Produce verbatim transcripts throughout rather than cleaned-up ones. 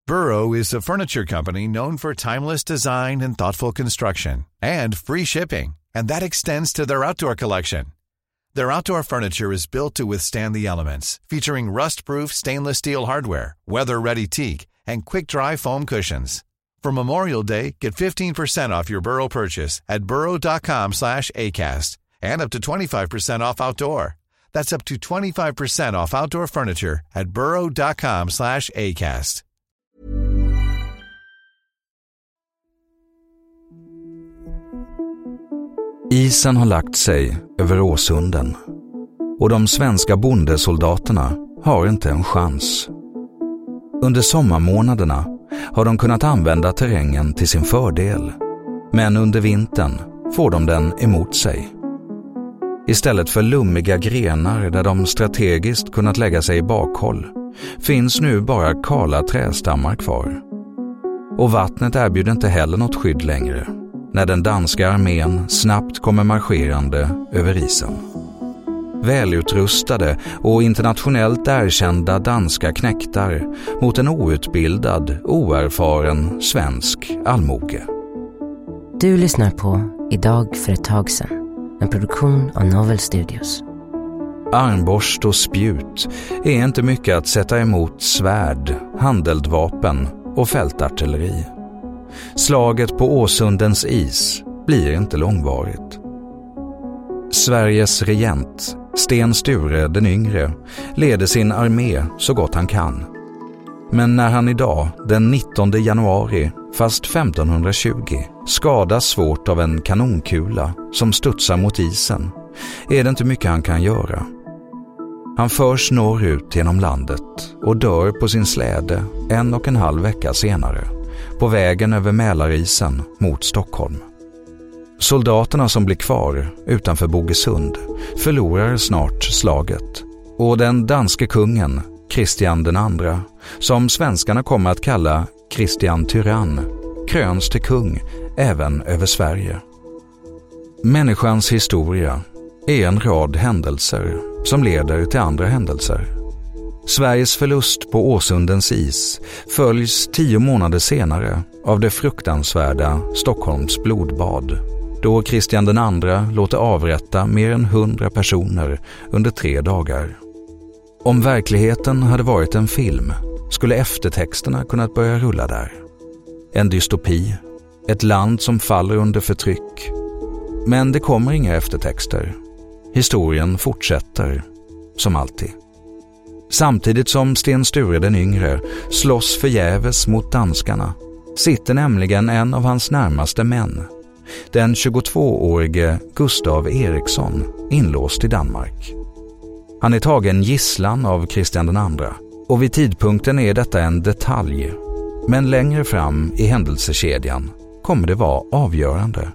Burrow is a furniture company known for timeless design and thoughtful construction, and free shipping, and that extends to their outdoor collection. Their outdoor furniture is built to withstand the elements, featuring rust-proof stainless steel hardware, weather-ready teak, and quick-dry foam cushions. For Memorial Day, get fifteen percent off your Burrow purchase at burrow.com slash ACAST and up to twenty-five percent off outdoor. That's up to twenty-five percent off outdoor furniture at burrow.com slash ACAST. Isen har lagt sig över Åsunden och de svenska bondesoldaterna har inte en chans. Under sommarmånaderna har de kunnat använda terrängen till sin fördel, men under vintern får de den emot sig. Istället för lummiga grenar där de strategiskt kunnat lägga sig i bakhåll finns nu bara kala trästammar kvar. Och vattnet erbjuder inte heller något skydd längre när den danska armén snabbt kommer marscherande över isen. Välutrustade och internationellt erkända danska knäktar mot en outbildad, oerfaren svensk allmoge. Du lyssnar på Idag för ett tag sedan, en produktion av Novel Studios. Armborst och spjut är inte mycket att sätta emot svärd, handeldvapen och fältartilleri. Slaget på Åsundens is blir inte långvarigt. Sveriges regent, Sten Sture den yngre, leder sin armé så gott han kan. Men när han idag, den nittonde januari, fast femtonhundratjugo, skadas svårt av en kanonkula som studsar mot isen, är det inte mycket han kan göra. Han förs norrut genom landet och dör på sin släde en och en halv vecka senare, på vägen över Mälarisen mot Stockholm. Soldaterna som blir kvar utanför Bogesund förlorar snart slaget, och den danske kungen, Kristian den andra, som svenskarna kommer att kalla Kristian Tyrann, kröns till kung även över Sverige. Människans historia är en rad händelser som leder till andra händelser. Sveriges förlust på Åsundens is följs tio månader senare av det fruktansvärda Stockholms blodbad, då Kristian den andra låter avrätta mer än hundra personer under tre dagar. Om verkligheten hade varit en film skulle eftertexterna kunnat börja rulla där. En dystopi, ett land som faller under förtryck. Men det kommer inga eftertexter. Historien fortsätter, som alltid. Samtidigt som Sten Sture den yngre slåss förgäves mot danskarna sitter nämligen en av hans närmaste män, den tjugotvåårige Gustav Eriksson, inlåst i Danmark. Han är tagen gisslan av Kristian den andra, och vid tidpunkten är detta en detalj, men längre fram i händelsekedjan kommer det vara avgörande.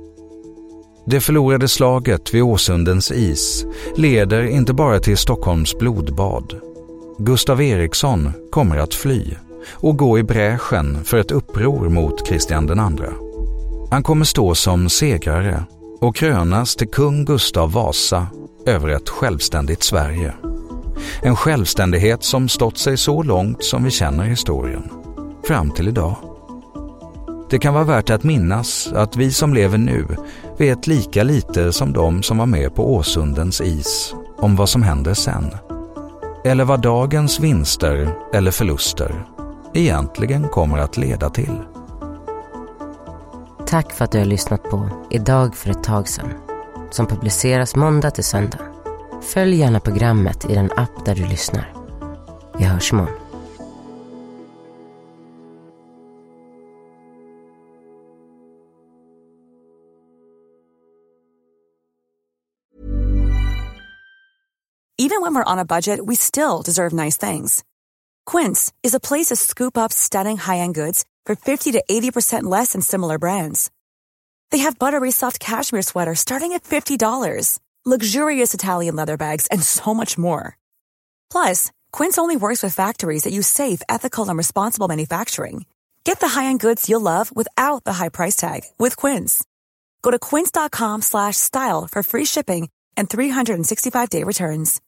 Det förlorade slaget vid Åsundens is leder inte bara till Stockholms blodbad. Gustav Eriksson kommer att fly och gå i bräschen för ett uppror mot Kristian den andra. Han kommer stå som segrare och krönas till kung Gustav Vasa över ett självständigt Sverige. En självständighet som stått sig så långt som vi känner historien, fram till idag. Det kan vara värt att minnas att vi som lever nu vet lika lite som de som var med på Åsundens is om vad som händer sen. Eller vad dagens vinster eller förluster egentligen kommer att leda till. Tack för att du har lyssnat på Idag för ett tag sedan, som publiceras måndag till söndag. Följ gärna programmet i den app där du lyssnar. Vi hörs imorgon. Even when we're on a budget, we still deserve nice things. Quince is a place to scoop up stunning high-end goods for fifty to eighty percent less than similar brands. They have buttery soft cashmere sweaters starting at fifty dollars, luxurious Italian leather bags, and so much more. Plus, Quince only works with factories that use safe, ethical, and responsible manufacturing. Get the high-end goods you'll love without the high price tag with Quince. Go to quince.com slash style for free shipping and three hundred sixty-five day returns.